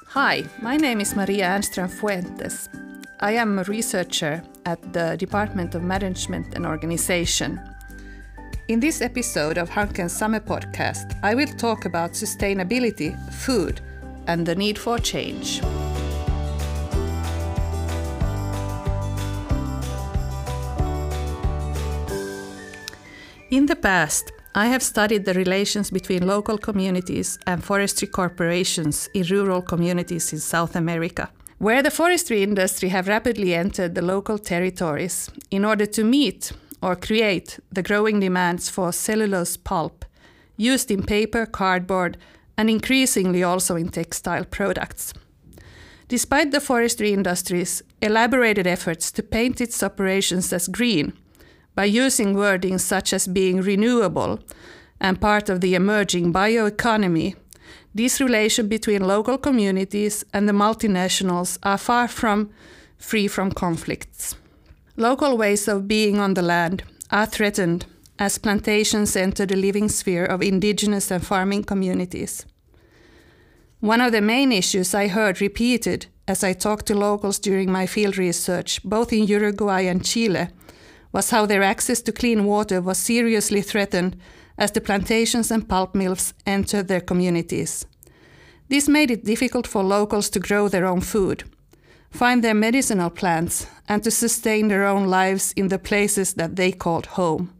Hi, my name is Maria Ernström Fuentes. I am a researcher at the Department of Management and Organization. In this episode of Hanken's Summer Podcast, I will talk about sustainability, food, and the need for change. In the past, I have studied the relations between local communities and forestry corporations in rural communities in South America, where the forestry industry have rapidly entered the local territories in order to meet or create the growing demands for cellulose pulp used in paper, cardboard, and increasingly also in textile products. Despite the forestry industry's elaborated efforts to paint its operations as green, by using wording such as being renewable and part of the emerging bioeconomy, this relation between local communities and the multinationals are far from free from conflicts. Local ways of being on the land are threatened as plantations enter the living sphere of indigenous and farming communities. One of the main issues I heard repeated as I talked to locals during my field research, both in Uruguay and Chile, was how their access to clean water was seriously threatened as the plantations and pulp mills entered their communities. This made it difficult for locals to grow their own food, find their medicinal plants, and to sustain their own lives in the places that they called home.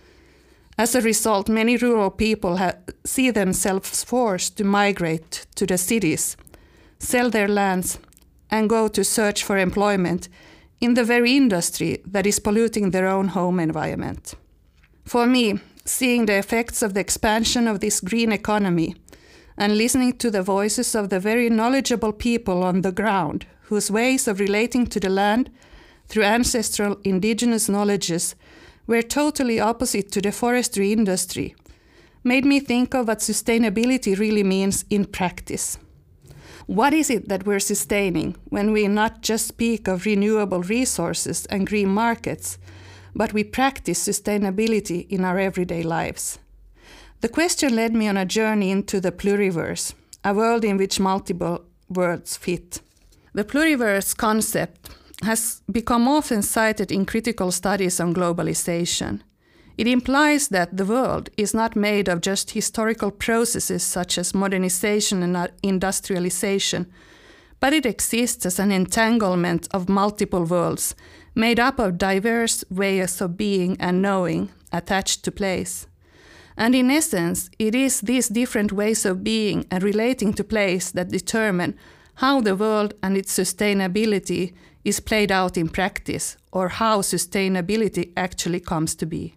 As a result, many rural people see themselves forced to migrate to the cities, sell their lands, and go to search for employment in the very industry that is polluting their own home environment. For me, seeing the effects of the expansion of this green economy and listening to the voices of the very knowledgeable people on the ground whose ways of relating to the land through ancestral indigenous knowledges were totally opposite to the forestry industry, made me think of what sustainability really means in practice. What is it that we're sustaining when we not just speak of renewable resources and green markets, but we practice sustainability in our everyday lives? The question led me on a journey into the pluriverse, a world in which multiple worlds fit. The pluriverse concept has become often cited in critical studies on globalization. It implies that the world is not made of just historical processes such as modernization and industrialization, but it exists as an entanglement of multiple worlds made up of diverse ways of being and knowing attached to place. And in essence, it is these different ways of being and relating to place that determine how the world and its sustainability is played out in practice, or how sustainability actually comes to be.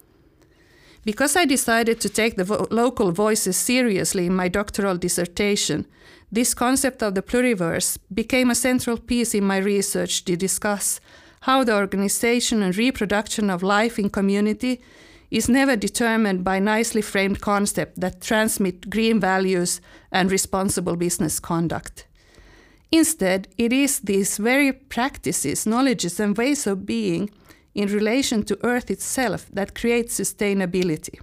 Because I decided to take the local voices seriously in my doctoral dissertation, this concept of the pluriverse became a central piece in my research to discuss how the organization and reproduction of life in community is never determined by nicely framed concepts that transmit green values and responsible business conduct. Instead, it is these very practices, knowledges, and ways of being in relation to Earth itself that creates sustainability.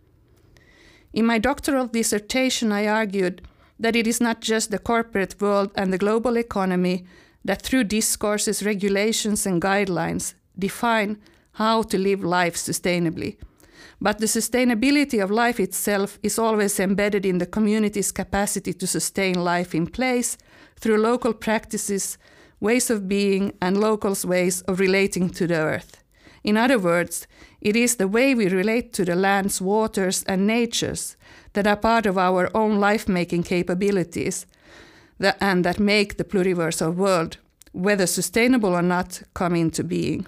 In my doctoral dissertation, I argued that it is not just the corporate world and the global economy that through discourses, regulations, and guidelines define how to live life sustainably, but the sustainability of life itself is always embedded in the community's capacity to sustain life in place through local practices, ways of being, and locals' ways of relating to the Earth. In other words, it is the way we relate to the lands, waters, and natures that are part of our own life-making capabilities and that make the pluriverse of world, whether sustainable or not, come into being.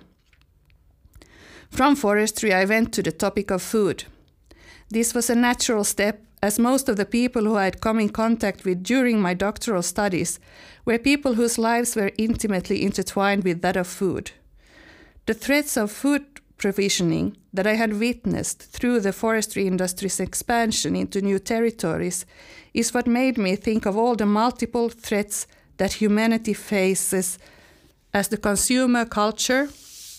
From forestry, I went to the topic of food. This was a natural step, as most of the people who I had come in contact with during my doctoral studies were people whose lives were intimately intertwined with that of food. The threats of food provisioning that I had witnessed through the forestry industry's expansion into new territories is what made me think of all the multiple threats that humanity faces as the consumer culture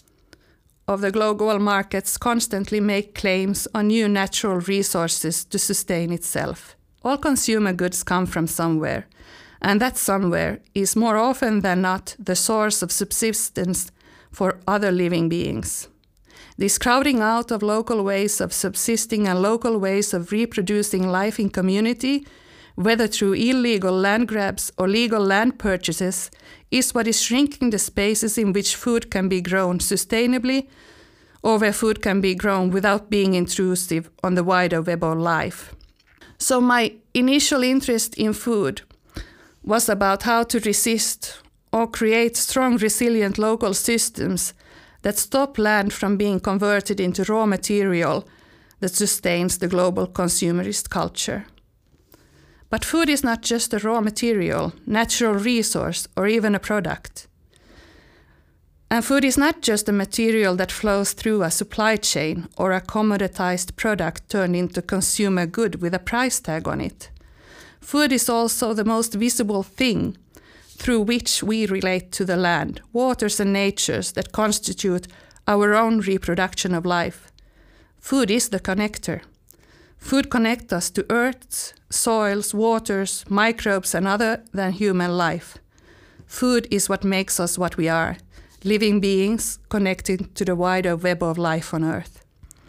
of the global markets constantly make claims on new natural resources to sustain itself. All consumer goods come from somewhere, and that somewhere is more often than not the source of subsistence for other living beings. This crowding out of local ways of subsisting and local ways of reproducing life in community, whether through illegal land grabs or legal land purchases, is what is shrinking the spaces in which food can be grown sustainably, or where food can be grown without being intrusive on the wider web of life. So my initial interest in food was about how to resist or create strong, resilient local systems that stop land from being converted into raw material that sustains the global consumerist culture. But food is not just a raw material, natural resource, or even a product. And food is not just a material that flows through a supply chain or a commoditized product turned into consumer good with a price tag on it. Food is also the most visible thing through which we relate to the land, waters and natures that constitute our own reproduction of life. Food is the connector. Food connects us to earths, soils, waters, microbes, and other than human life. Food is what makes us what we are, living beings connected to the wider web of life on Earth.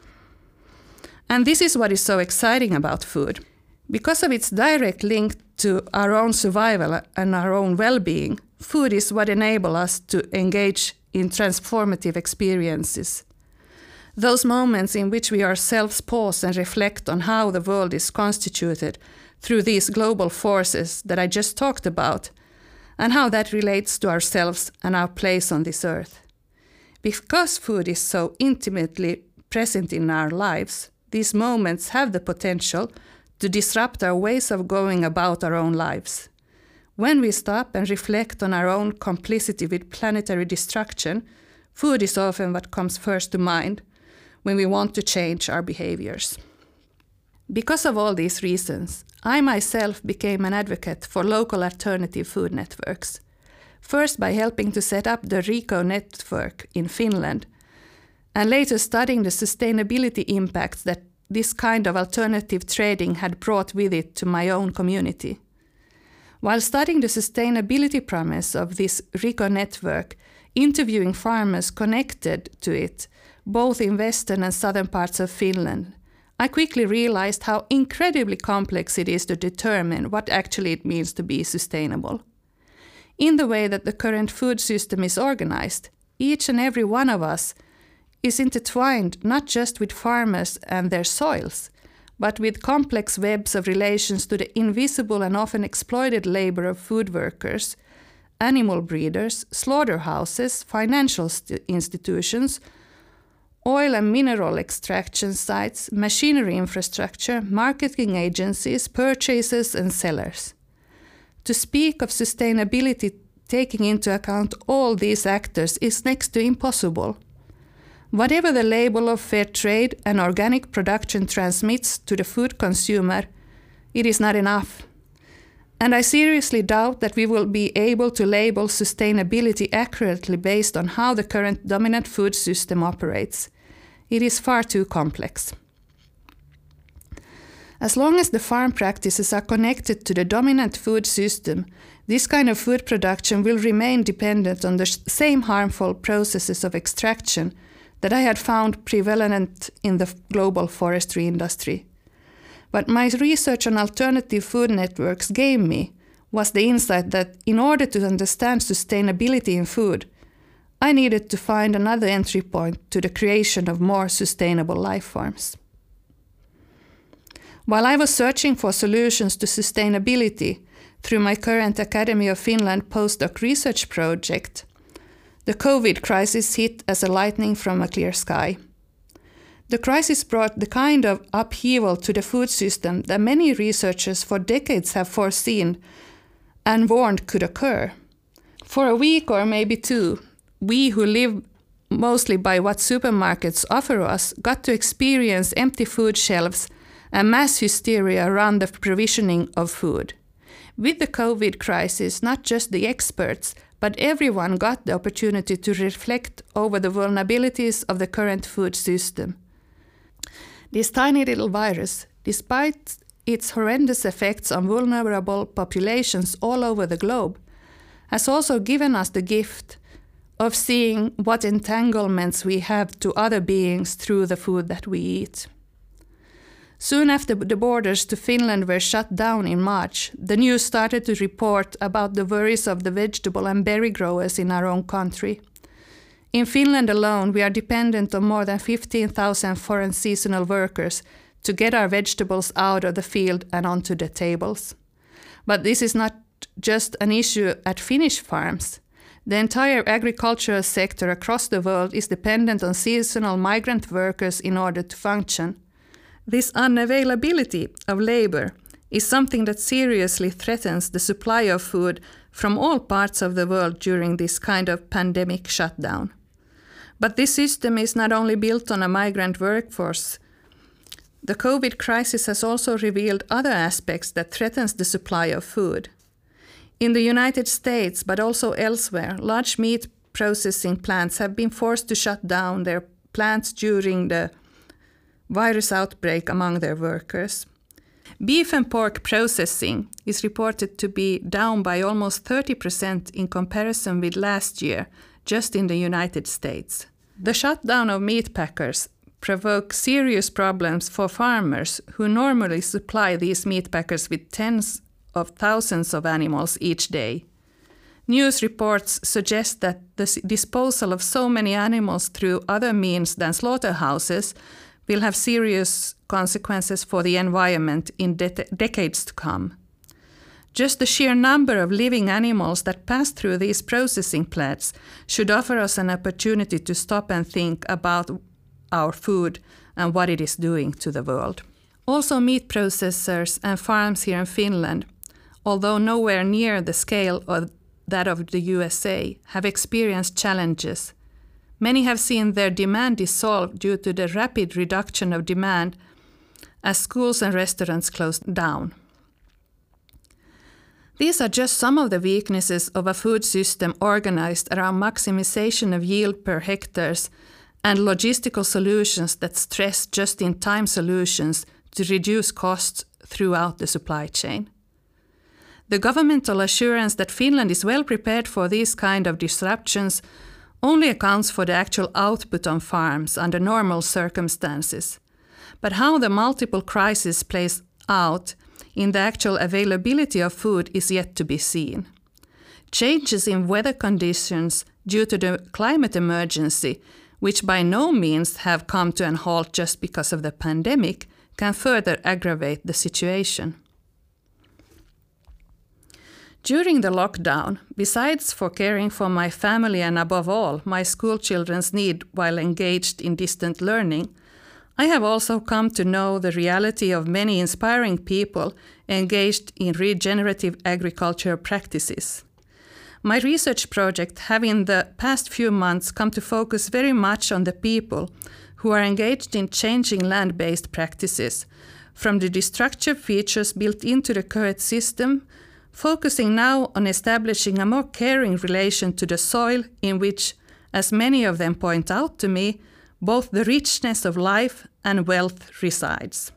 And this is what is so exciting about food. Because of its direct link to our own survival and our own well-being, food is what enables us to engage in transformative experiences. Those moments in which we ourselves pause and reflect on how the world is constituted through these global forces that I just talked about, and how that relates to ourselves and our place on this earth. Because food is so intimately present in our lives, these moments have the potential to disrupt our ways of going about our own lives. When we stop and reflect on our own complicity with planetary destruction, food is often what comes first to mind when we want to change our behaviors. Because of all these reasons, I myself became an advocate for local alternative food networks. First by helping to set up the RICO network in Finland, and later studying the sustainability impacts that this kind of alternative trading had brought with it to my own community. While studying the sustainability promise of this RICO network, interviewing farmers connected to it, both in western and southern parts of Finland, I quickly realized how incredibly complex it is to determine what actually it means to be sustainable. In the way that the current food system is organized, each and every one of us is intertwined not just with farmers and their soils, but with complex webs of relations to the invisible and often exploited labor of food workers, animal breeders, slaughterhouses, financial institutions, oil and mineral extraction sites, machinery infrastructure, marketing agencies, purchasers, and sellers. To speak of sustainability taking into account all these actors is next to impossible. Whatever the label of fair trade and organic production transmits to the food consumer, it is not enough. And I seriously doubt that we will be able to label sustainability accurately based on how the current dominant food system operates. It is far too complex. As long as the farm practices are connected to the dominant food system, this kind of food production will remain dependent on the same harmful processes of extraction that I had found prevalent in the global forestry industry. What my research on alternative food networks gave me was the insight that in order to understand sustainability in food, I needed to find another entry point to the creation of more sustainable life forms. While I was searching for solutions to sustainability through my current Academy of Finland postdoc research project, the COVID crisis hit as a lightning from a clear sky. The crisis brought the kind of upheaval to the food system that many researchers for decades have foreseen and warned could occur. For a week or maybe two, we who live mostly by what supermarkets offer us got to experience empty food shelves and mass hysteria around the provisioning of food. With the COVID crisis, not just the experts, but everyone got the opportunity to reflect over the vulnerabilities of the current food system. This tiny little virus, despite its horrendous effects on vulnerable populations all over the globe, has also given us the gift of seeing what entanglements we have to other beings through the food that we eat. Soon after the borders to Finland were shut down in March, the news started to report about the worries of the vegetable and berry growers in our own country. In Finland alone, we are dependent on more than 15,000 foreign seasonal workers to get our vegetables out of the field and onto the tables. But this is not just an issue at Finnish farms. The entire agricultural sector across the world is dependent on seasonal migrant workers in order to function. This unavailability of labor is something that seriously threatens the supply of food from all parts of the world during this kind of pandemic shutdown. But this system is not only built on a migrant workforce. The COVID crisis has also revealed other aspects that threatens the supply of food. In the United States, but also elsewhere, large meat processing plants have been forced to shut down their plants during the virus outbreak among their workers. Beef and pork processing is reported to be down by almost 30% in comparison with last year, just in the United States. The shutdown of meat packers provoke serious problems for farmers who normally supply these meat packers with tens of thousands of animals each day. News reports suggest that the disposal of so many animals through other means than slaughterhouses will have serious consequences for the environment in decades to come. Just the sheer number of living animals that pass through these processing plants should offer us an opportunity to stop and think about our food and what it is doing to the world. Also, meat processors and farms here in Finland, although nowhere near the scale of that of the USA, have experienced challenges. Many have seen their demand dissolve due to the rapid reduction of demand as schools and restaurants closed down. These are just some of the weaknesses of a food system organized around maximization of yield per hectares and logistical solutions that stress just-in-time solutions to reduce costs throughout the supply chain. The governmental assurance that Finland is well prepared for these kind of disruptions only accounts for the actual output on farms under normal circumstances. But how the multiple crises plays out in the actual availability of food is yet to be seen. Changes in weather conditions due to the climate emergency, which by no means have come to a halt just because of the pandemic, can further aggravate the situation. During the lockdown, besides for caring for my family and above all my school children's need while engaged in distant learning, I have also come to know the reality of many inspiring people engaged in regenerative agriculture practices. My research project have in the past few months come to focus very much on the people who are engaged in changing land-based practices, from the destructive features built into the current system, focusing now on establishing a more caring relation to the soil in which, as many of them point out to me, both the richness of life and wealth resides.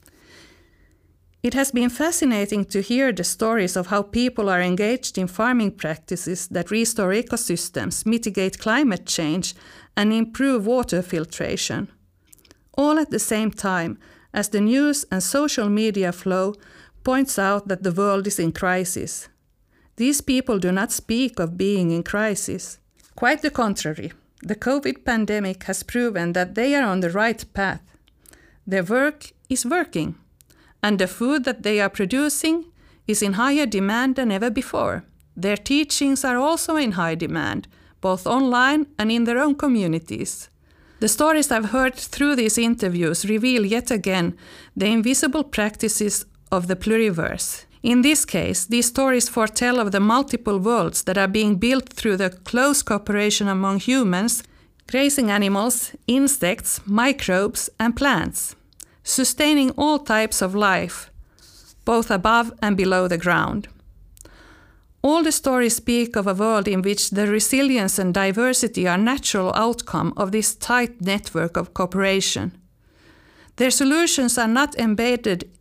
It has been fascinating to hear the stories of how people are engaged in farming practices that restore ecosystems, mitigate climate change, and improve water filtration, all at the same time as the news and social media flow points out that the world is in crisis. These people do not speak of being in crisis. Quite the contrary, the COVID pandemic has proven that they are on the right path. Their work is working, and the food that they are producing is in higher demand than ever before. Their teachings are also in high demand, both online and in their own communities. The stories I've heard through these interviews reveal yet again the invisible practices of the pluriverse. In this case, these stories foretell of the multiple worlds that are being built through the close cooperation among humans, grazing animals, insects, microbes, and plants, sustaining all types of life, both above and below the ground. All the stories speak of a world in which the resilience and diversity are natural outcome of this tight network of cooperation. Their solutions are not embedded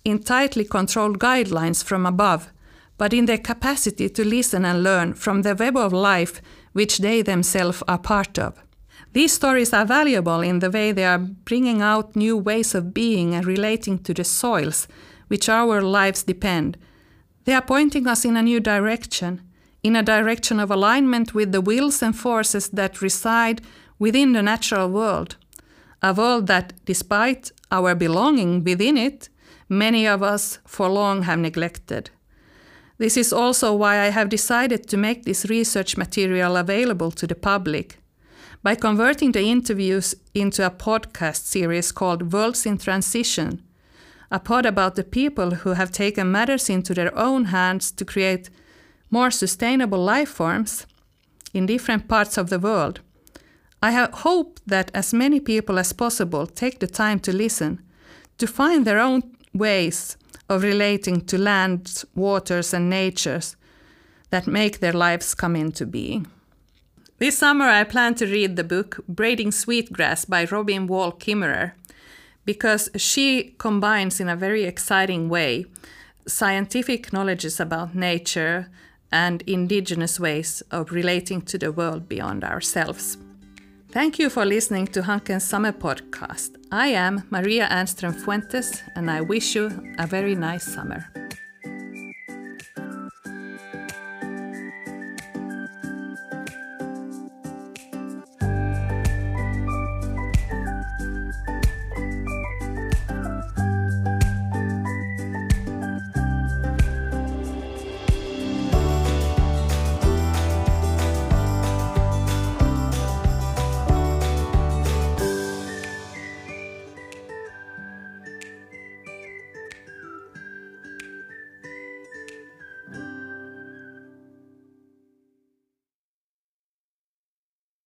in tightly controlled guidelines from above, but in their capacity to listen and learn from the web of life which they themselves are part of. These stories are valuable in the way they are bringing out new ways of being and relating to the soils which our lives depend. They are pointing us in a new direction, in a direction of alignment with the wills and forces that reside within the natural world, a world that, despite our belonging within it, many of us for long have neglected. This is also why I have decided to make this research material available to the public. By converting the interviews into a podcast series called Worlds in Transition, a pod about the people who have taken matters into their own hands to create more sustainable life forms in different parts of the world, I hope that as many people as possible take the time to listen, to find their own ways of relating to lands, waters, and natures that make their lives come into being. This summer I plan to read the book Braiding Sweetgrass by Robin Wall Kimmerer, because she combines in a very exciting way scientific knowledge about nature and indigenous ways of relating to the world beyond ourselves. Thank you for listening to Hanken's Summer Podcast. I am Maria Ernström Fuentes, and I wish you a very nice summer.